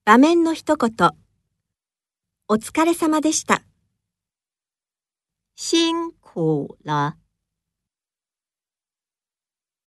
場面の一言。お疲れ様でした。 辛苦了。